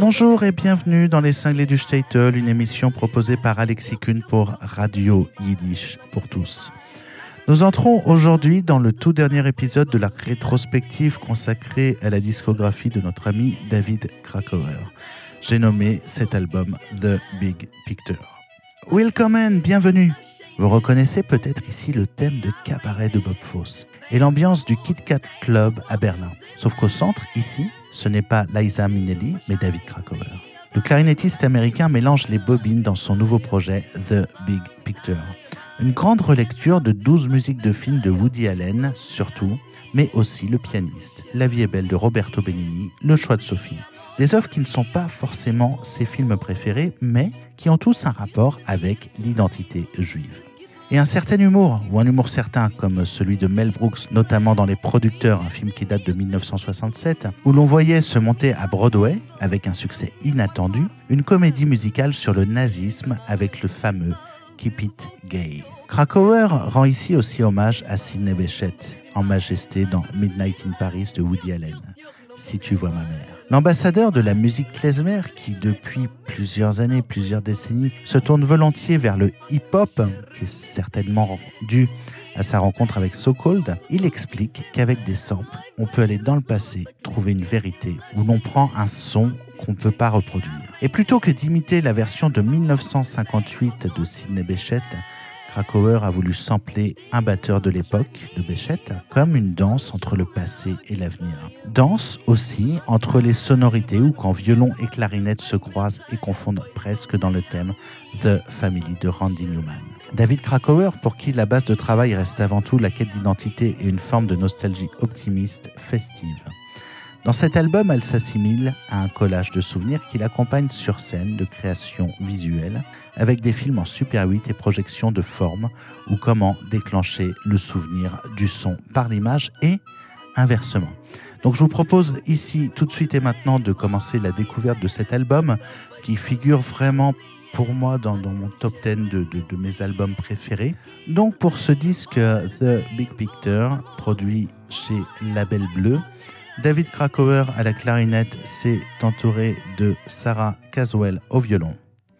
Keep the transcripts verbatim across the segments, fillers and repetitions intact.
Bonjour et bienvenue dans Les Cinglés du Shtetl, une émission proposée par Alexis Kuhn pour Radio Yiddish pour tous. Nous entrons aujourd'hui dans le tout dernier épisode de la rétrospective consacrée à la discographie de notre ami David Krakauer. J'ai nommé cet album The Big Picture. Willkommen, bienvenue. Vous reconnaissez peut-être ici le thème de Cabaret de Bob Fosse et l'ambiance du Kit Kat Club à Berlin. Sauf qu'au centre, ici, ce n'est pas Liza Minnelli, mais David Krakauer. Le clarinettiste américain mélange les bobines dans son nouveau projet The Big Picture. Une grande relecture de douze musiques de films de Woody Allen, surtout, mais aussi Le pianiste, La vie est belle de Roberto Benigni, Le choix de Sophie. Des œuvres qui ne sont pas forcément ses films préférés, mais qui ont tous un rapport avec l'identité juive. Et un certain humour, ou un humour certain, comme celui de Mel Brooks, notamment dans Les Producteurs, un film qui date de dix-neuf cent soixante-sept, où l'on voyait se monter à Broadway, avec un succès inattendu, une comédie musicale sur le nazisme avec le fameux Keep It Gay. Krakauer rend ici aussi hommage à Sidney Bechet, en majesté dans Midnight in Paris de Woody Allen. Si tu vois ma mère. L'ambassadeur de la musique klezmer, qui depuis plusieurs années, plusieurs décennies, se tourne volontiers vers le hip-hop, qui est certainement dû à sa rencontre avec So Cold, il explique qu'avec des samples, on peut aller dans le passé, trouver une vérité, où l'on prend un son qu'on ne peut pas reproduire. Et plutôt que d'imiter la version de dix-neuf cent cinquante-huit de Sidney Bechet, Krakauer a voulu sampler un batteur de l'époque, de Bechet, comme une danse entre le passé et l'avenir. Danse aussi entre les sonorités où quand violon et clarinette se croisent et confondent presque dans le thème The Family de Randy Newman. David Krakauer, pour qui la base de travail reste avant tout la quête d'identité et une forme de nostalgie optimiste, festive. Dans cet album, elle s'assimile à un collage de souvenirs qui l'accompagne sur scène de créations visuelles, avec des films en Super huit et projections de forme, ou comment déclencher le souvenir du son par l'image et inversement. Donc je vous propose ici, tout de suite et maintenant, de commencer la découverte de cet album qui figure vraiment pour moi dans, dans mon top dix de, de, de mes albums préférés. Donc pour ce disque The Big Picture, produit chez Label Bleu, David Krakauer à la clarinette s'est entouré de Sarah Caswell au violon,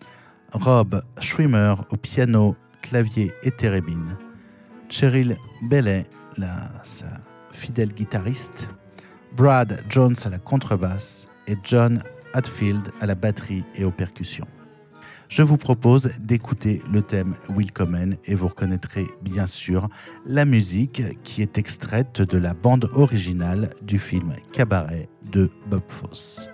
Rob Schwimmer au piano, clavier et thérémine, Cheryl Bailey, la, sa fidèle guitariste, Brad Jones à la contrebasse et John Hatfield à la batterie et aux percussions. Je vous propose d'écouter le thème Willkommen et vous reconnaîtrez bien sûr la musique qui est extraite de la bande originale du film Cabaret de Bob Fosse.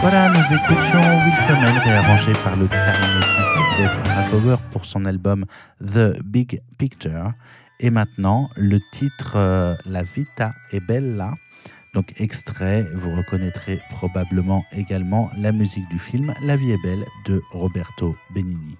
Voilà, nous écoutions Willkommen, réarrangé par le clarinettiste David Krakauer pour son album The Big Picture. Et maintenant, le titre euh, La Vita è Bella. Donc extrait, vous reconnaîtrez probablement également la musique du film La Vie est belle de Roberto Benigni.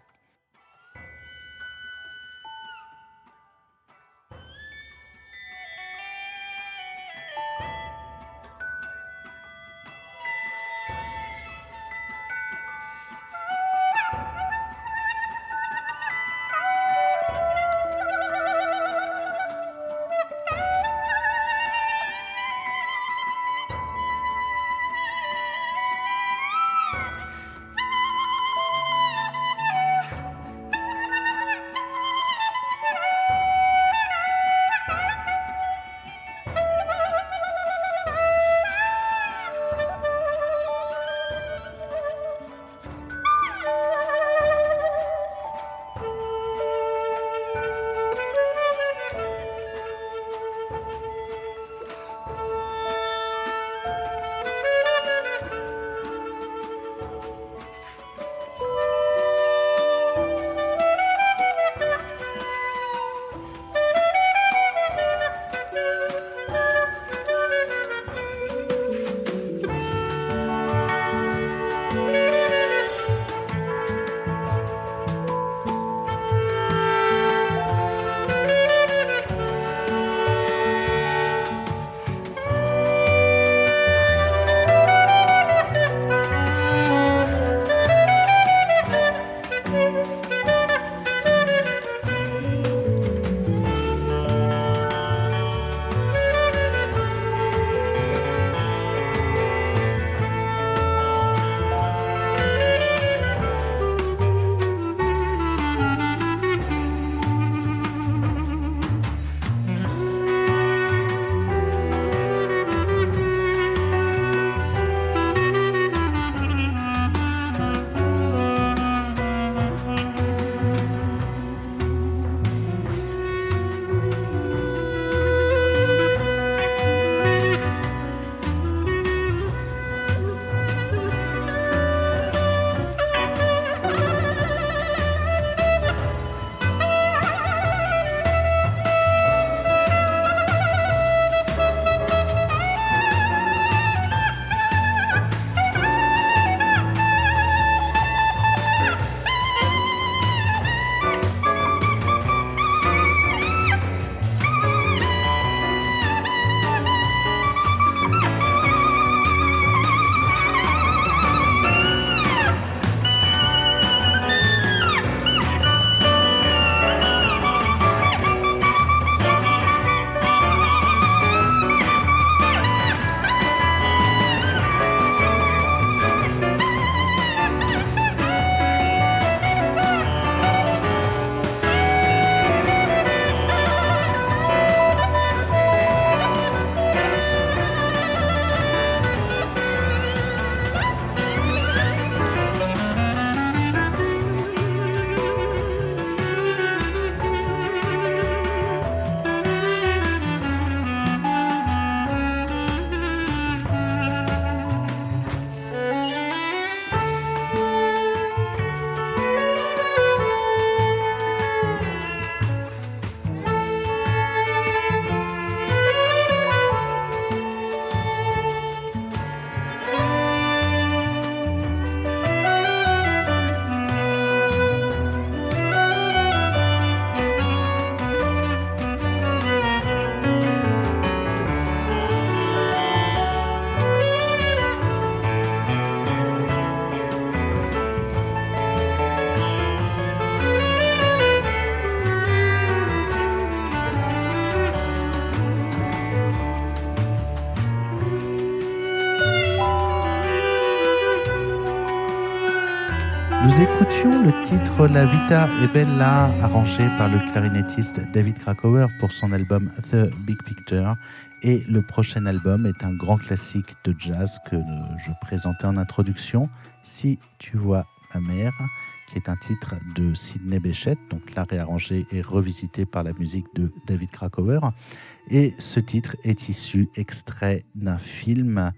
Nous écoutions le titre La Vita è Bella, arrangé par le clarinettiste David Krakauer pour son album The Big Picture. Et le prochain album est un grand classique de jazz que je présentais en introduction, Si tu vois ma mère, qui est un titre de Sidney Bechet, donc là réarrangé et revisité par la musique de David Krakauer. Et ce titre est issu extrait d'un film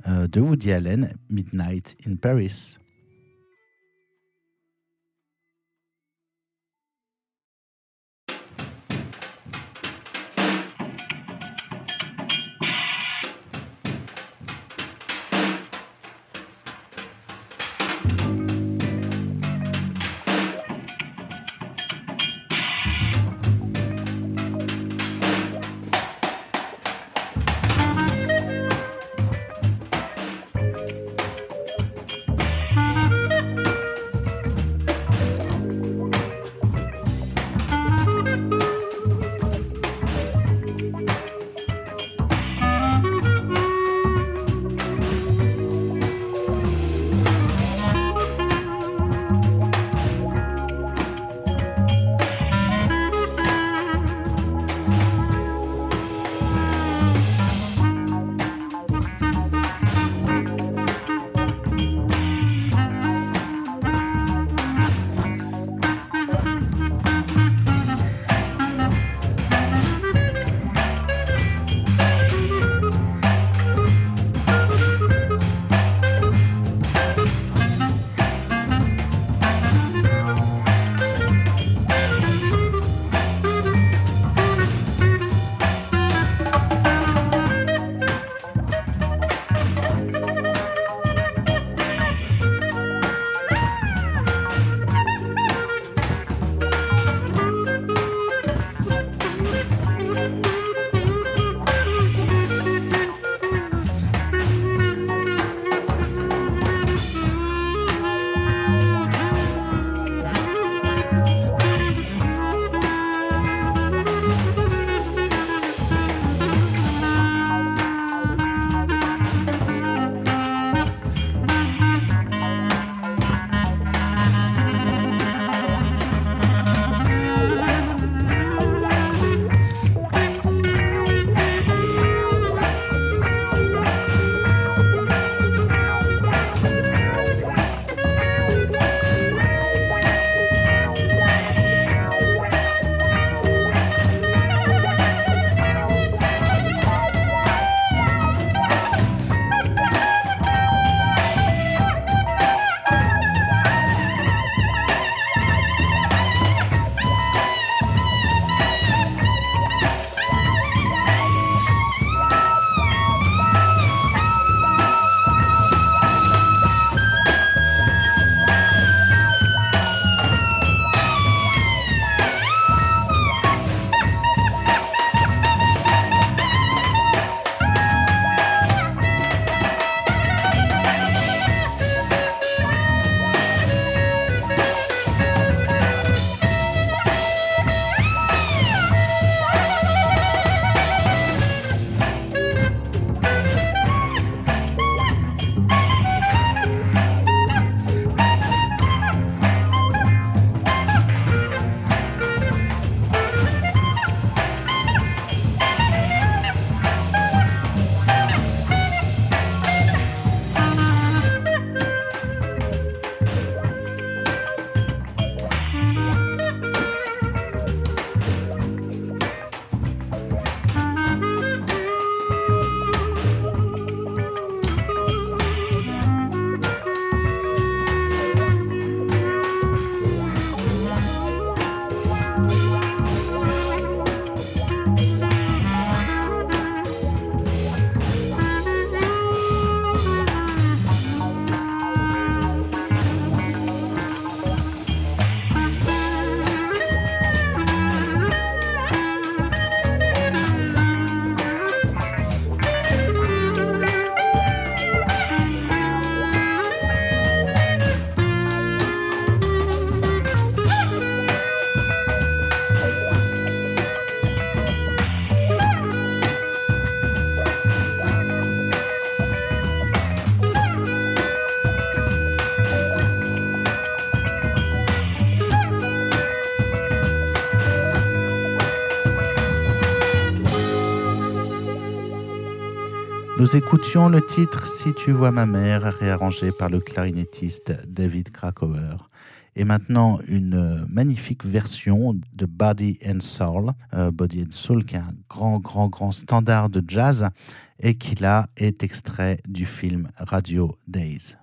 euh, de Woody Allen, Midnight in Paris. Nous écoutions le titre « Si tu vois ma mère » réarrangé par le clarinettiste David Krakauer. Et maintenant, une magnifique version de Body and Soul. Euh, Body and Soul, qui est un grand, grand, grand standard de jazz et qui là est extrait du film Radio Days.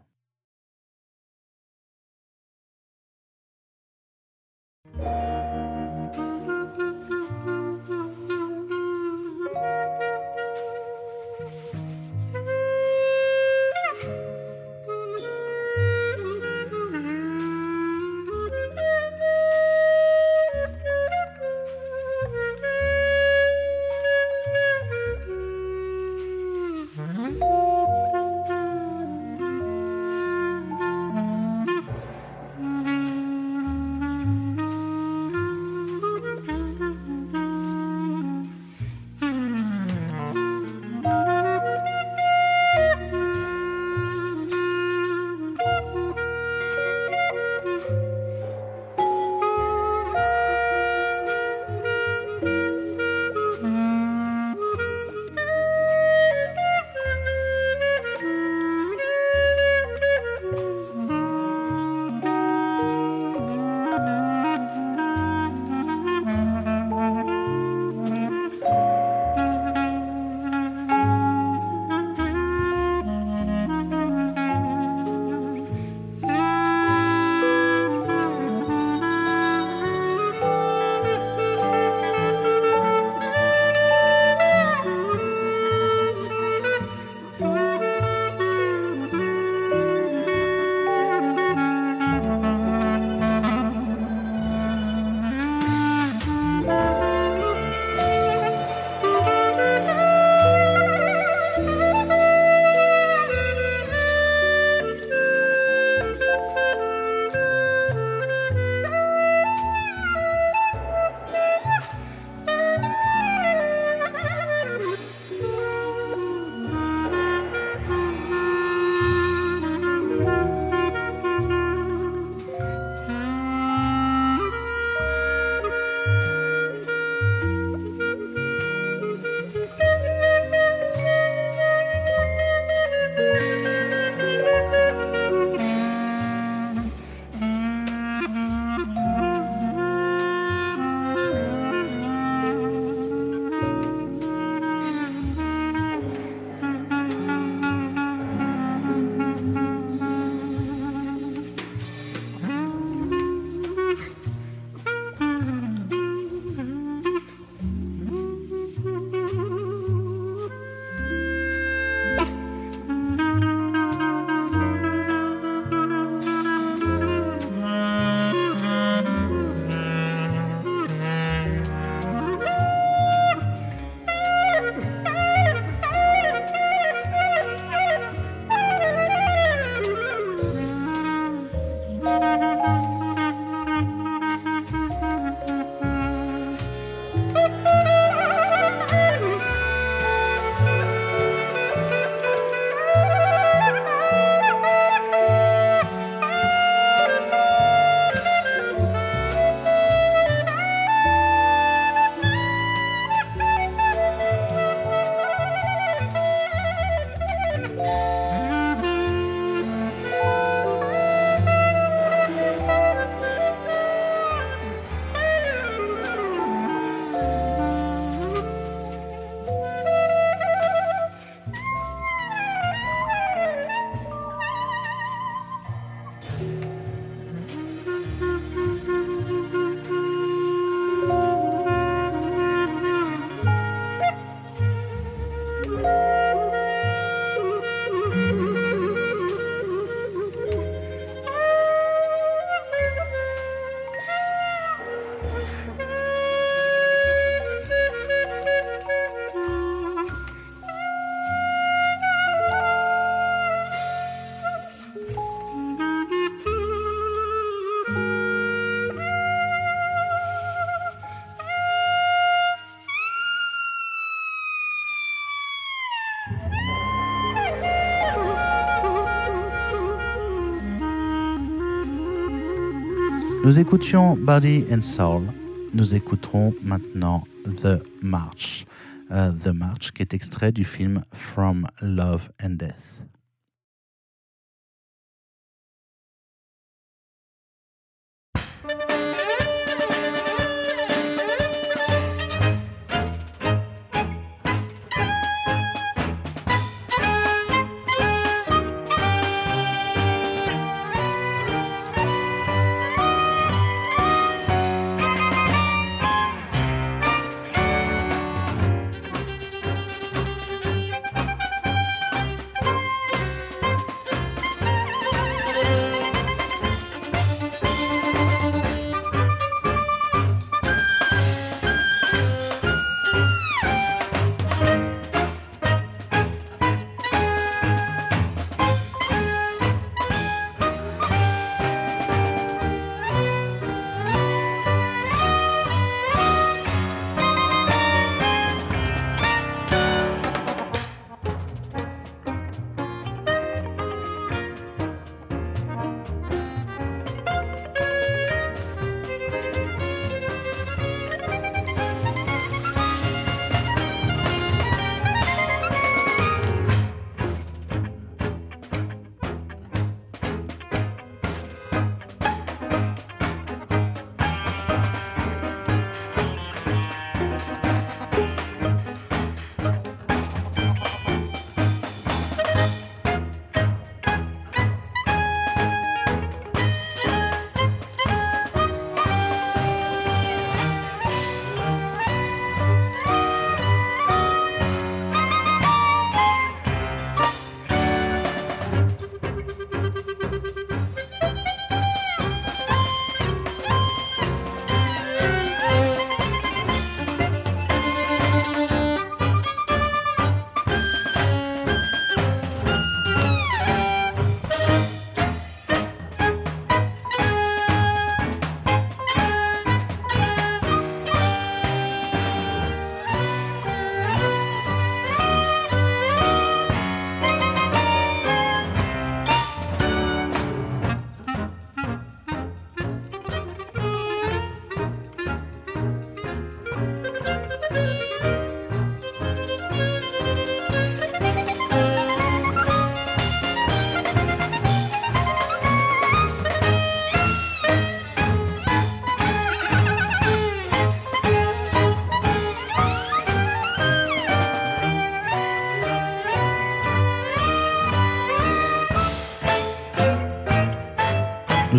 Nous écoutions Body and Soul. Nous écouterons maintenant The March. Uh, The March, qui est extrait du film From Love and Death.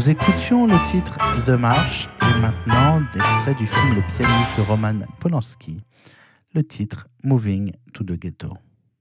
Nous écoutions le titre The March et maintenant l'extrait du film Le pianiste de Roman Polanski, le titre Moving to the Ghetto.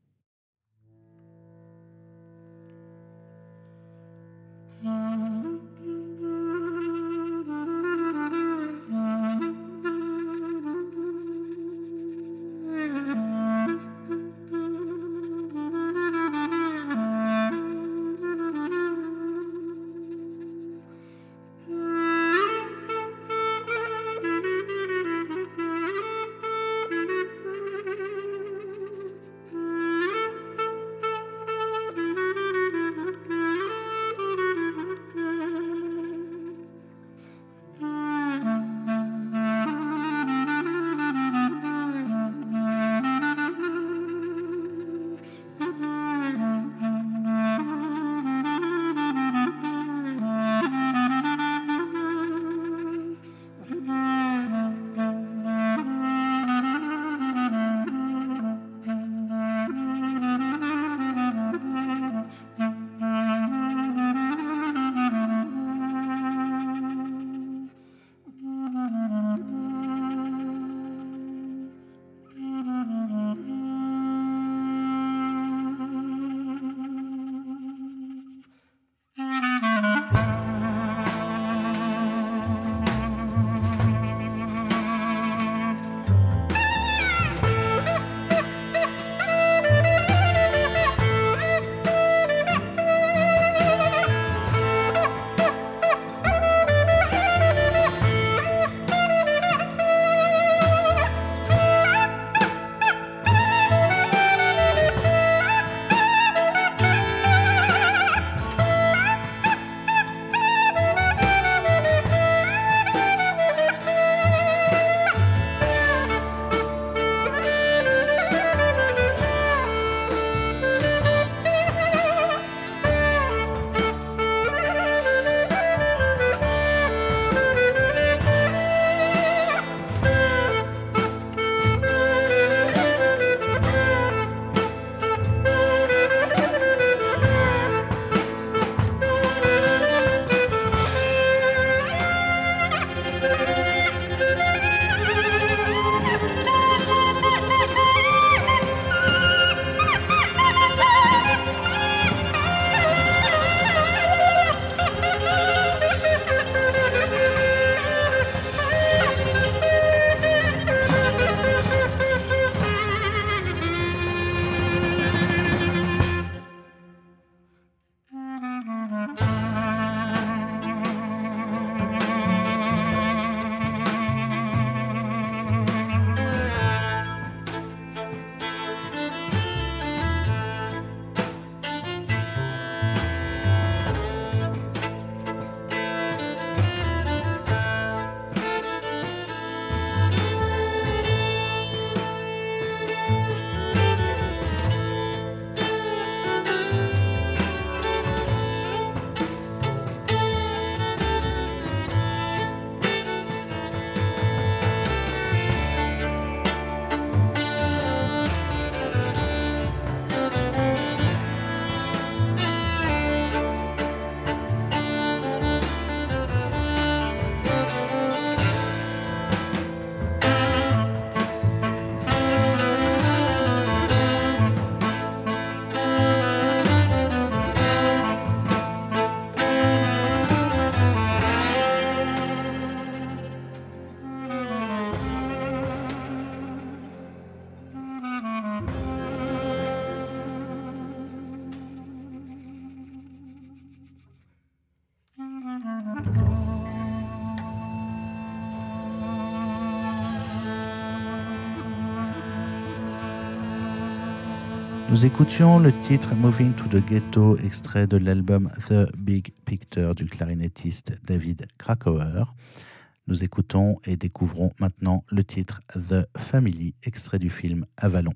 Nous écoutions le titre Moving to the Ghetto, extrait de l'album The Big Picture du clarinettiste David Krakauer. Nous écoutons et découvrons maintenant le titre The Family, extrait du film Avalon.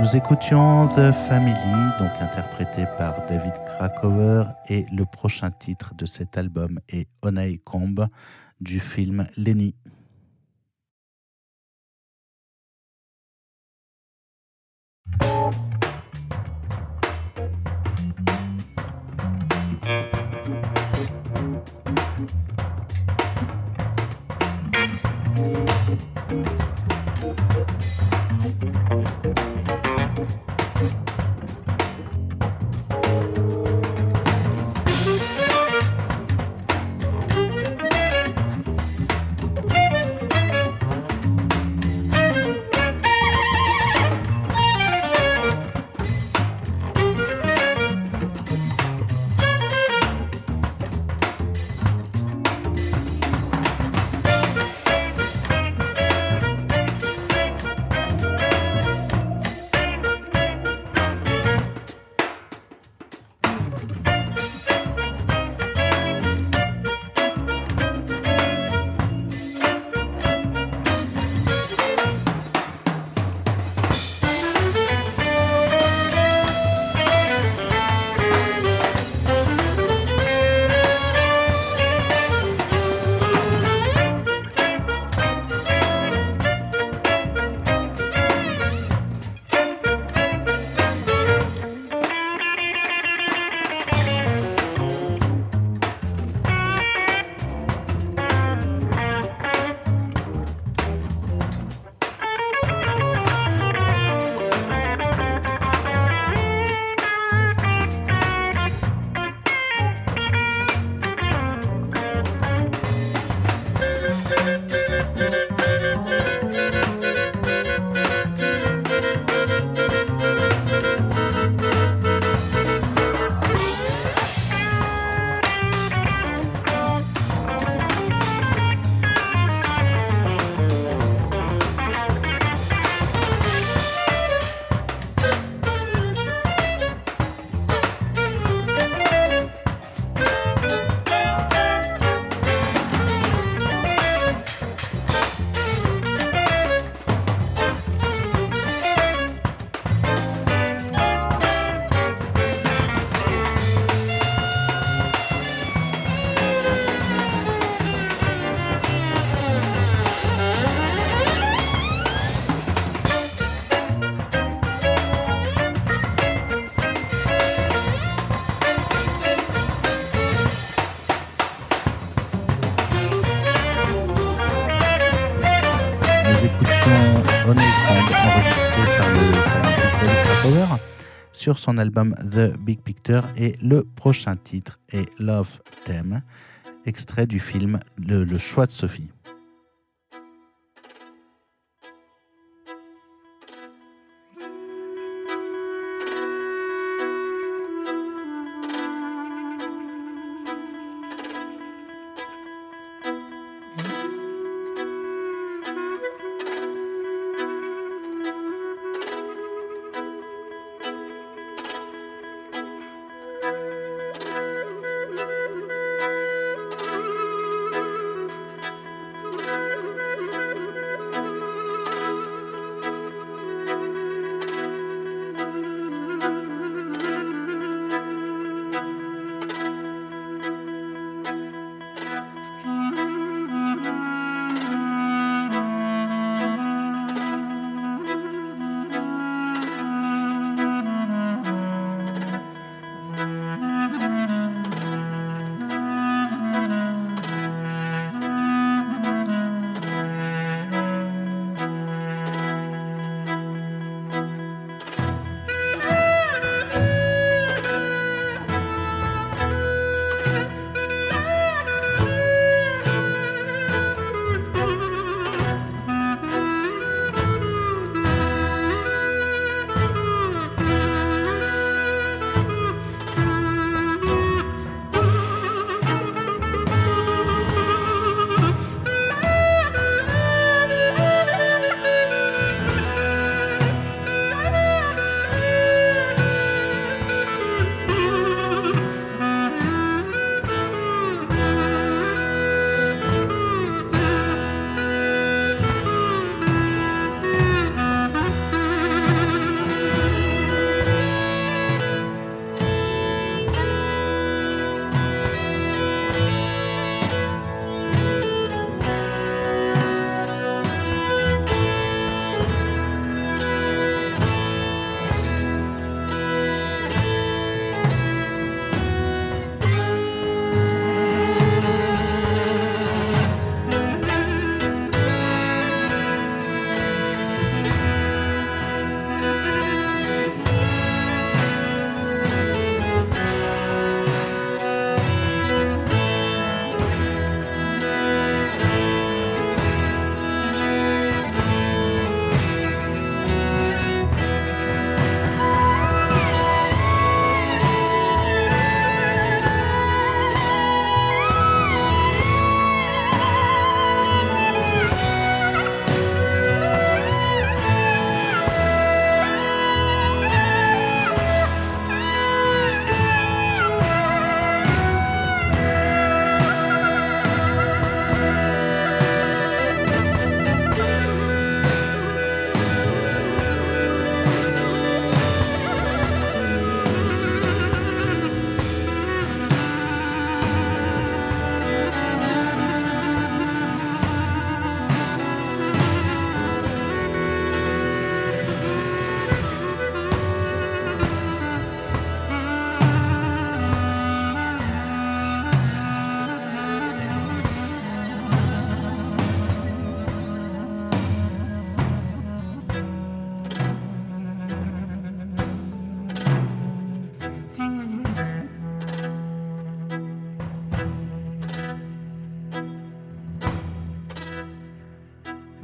Nous écoutions The Family, donc interprété par David Krakower, et le prochain titre de cet album est Honeycomb du film Lenny. Sur son album The Big Picture, et le prochain titre est Love Theme, extrait du film Le, le choix de Sophie.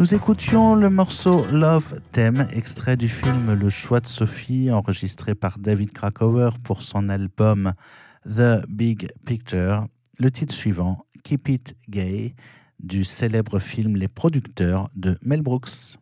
Nous écoutions le morceau Love Theme, extrait du film Le Choix de Sophie, enregistré par David Krakauer pour son album The Big Picture. Le titre suivant, Keep It Gay, du célèbre film Les Producteurs de Mel Brooks.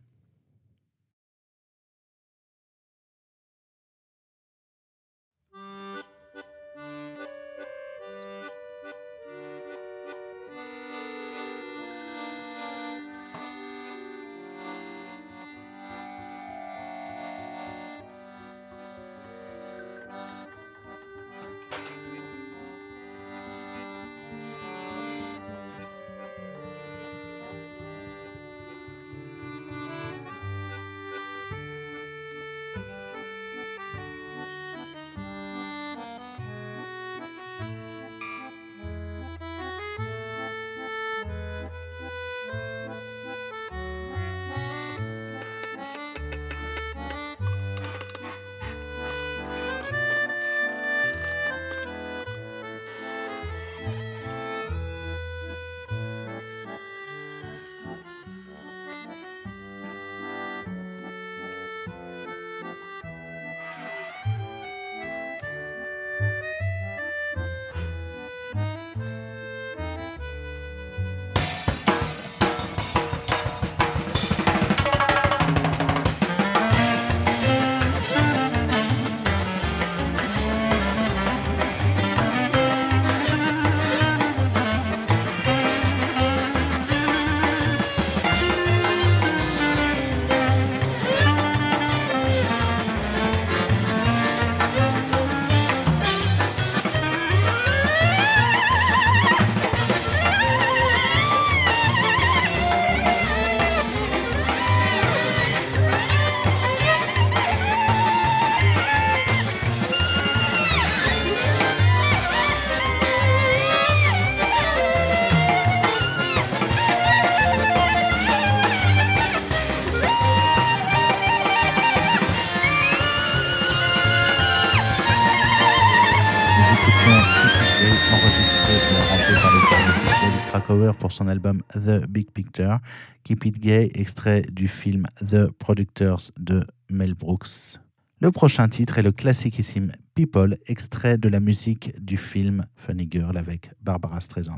Pour son album The Big Picture, Keep It Gay, extrait du film The Productors de Mel Brooks. Le prochain titre est le classiquissime People, extrait de la musique du film Funny Girl avec Barbara Streisand.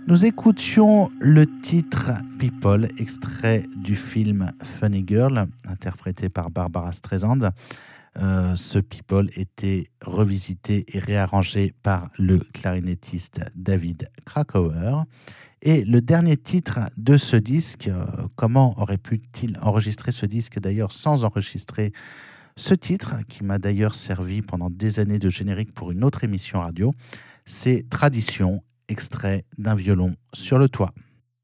Nous écoutions le titre People, extrait du film Funny Girl, interprété par Barbara Streisand. Euh, ce People était revisité et réarrangé par le clarinettiste David Krakauer. Et le dernier titre de ce disque, euh, comment aurait pu-t-il enregistrer ce disque d'ailleurs sans enregistrer ce titre, qui m'a d'ailleurs servi pendant des années de générique pour une autre émission radio, c'est Tradition, extrait d'un violon sur le toit.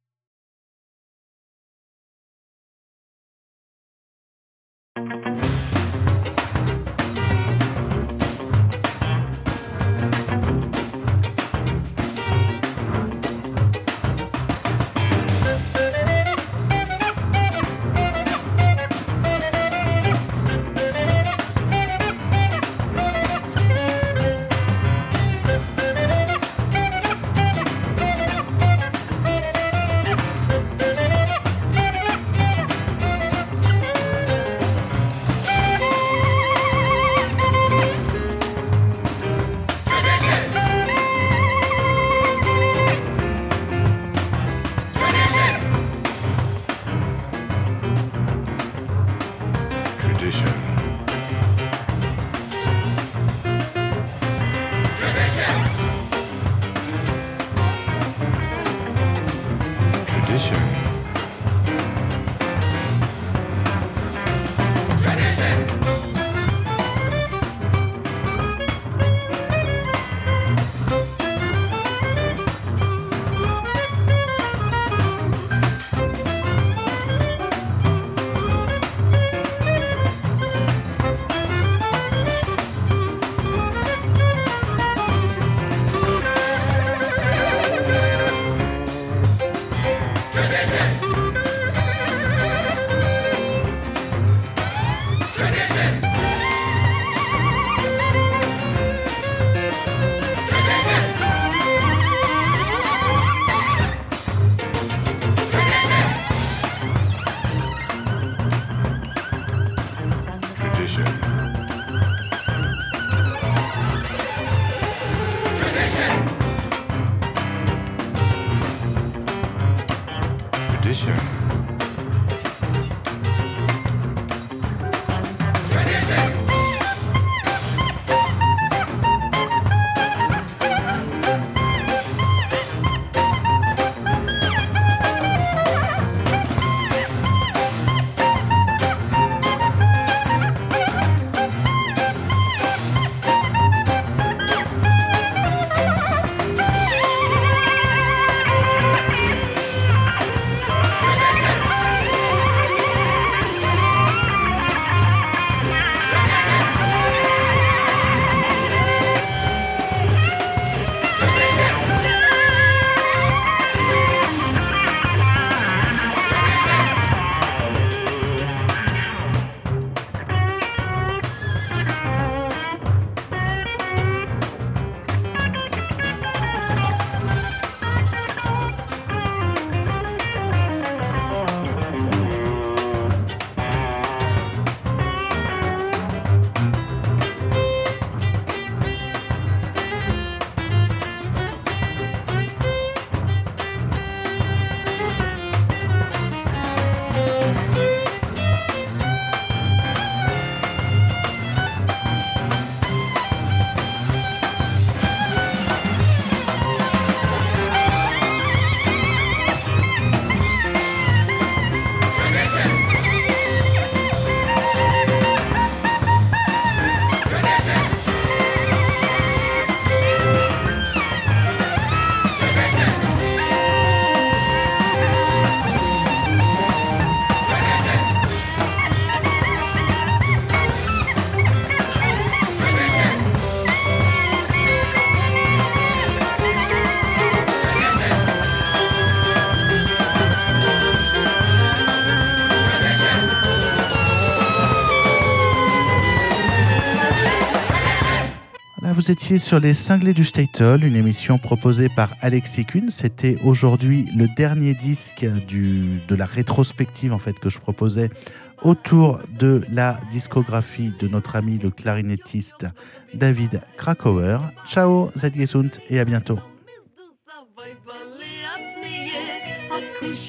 Vous étiez sur les Cinglés du Statel, une émission proposée par Alexis Kuhn. C'était aujourd'hui le dernier disque du, de la rétrospective en fait, que je proposais autour de la discographie de notre ami le clarinettiste David Krakauer. Ciao, Zed Gesund et à bientôt.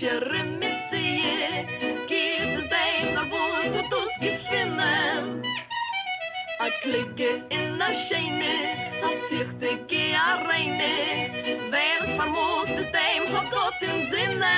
kusher mit sie, geht es dem nach wo so tus gefinnen. A klicke in a scheine, a zichte ge a reine, wer es vermogt es dem hat Gott im Sinne.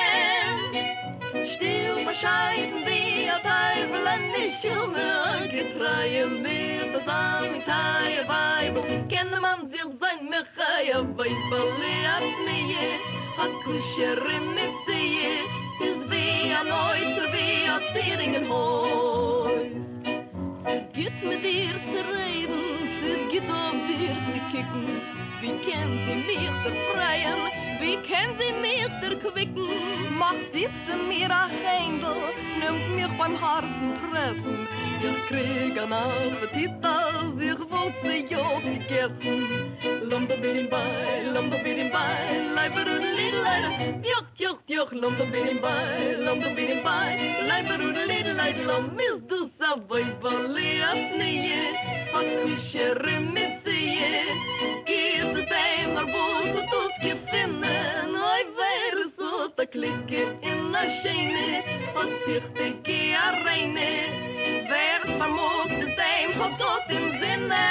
Still bescheiden wie a Teufel an die Schumme, getreue mit das Amitaie Weibel, kenne man sich sein Mechaie Weibel, leert nie, a kusher mit sie, is wie a Neuter, wie a Zieringenhäus. Es geht mit dir zu reden, es geht auf dir zu kicken. Wie können sie mich befreien, wie können sie mich erquicken? Macht sitzen mir ein Händel, nimmt mich beim Herzen fressen. Ich krieg an Appetit, als ich wollte ja gegessen. Lomba bidim bei, lomba bidim bei, leiberudelidelei, joch, joch, joch, lomba bidim bei, lomba bidim bei, leiberudelidelei, lom is du savai vali asnie, hat kusher mit sie, geht es dem nach wo so tus gefinnen, oi wer so ta klicke in a scheine, hat sich de ge a reine, wer es vermogt es dem hat Gott im Sinne.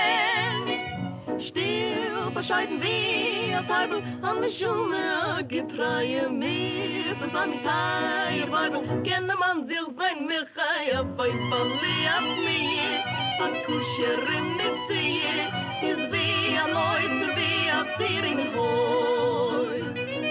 Still bescheiden wie a Teufel an der Schumme, getreue mit das Amitaie Weibel, kenne man sich sein Mechaie Weibel, leert nie, a kusher mit sie, is wie a Neuter, wie a Zieringenhäus.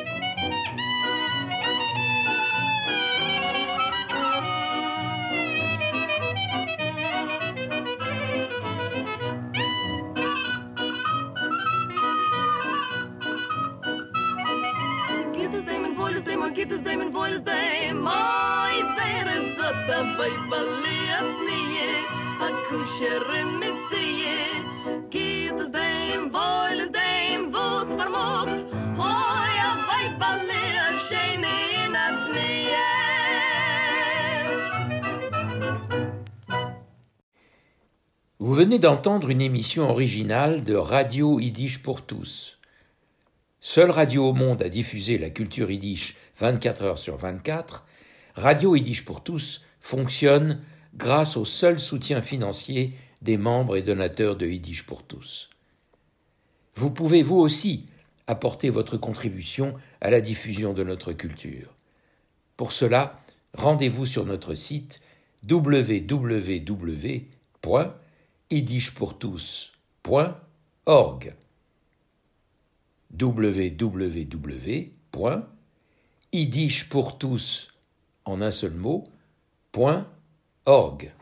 Geht es dem in Wohl dem, oi, wer es so dabei verliert nie, a kusher mit sie, geht es dem, wohl dem, wo's vermogt, oi, a weiberle, a scheine in a Schnee. Vous venez d'entendre une émission originale de Radio Yiddish pour tous. Seule radio au monde à diffuser la culture yiddish vingt-quatre heures sur vingt-quatre, Radio Yiddish pour tous fonctionne grâce au seul soutien financier des membres et donateurs de Yiddish pour tous. Vous pouvez vous aussi apporter votre contribution à la diffusion de notre culture. Pour cela, rendez-vous sur notre site w w w point yiddish pour tous point org. w w w point yiddish pour tous en un seul mot, point org.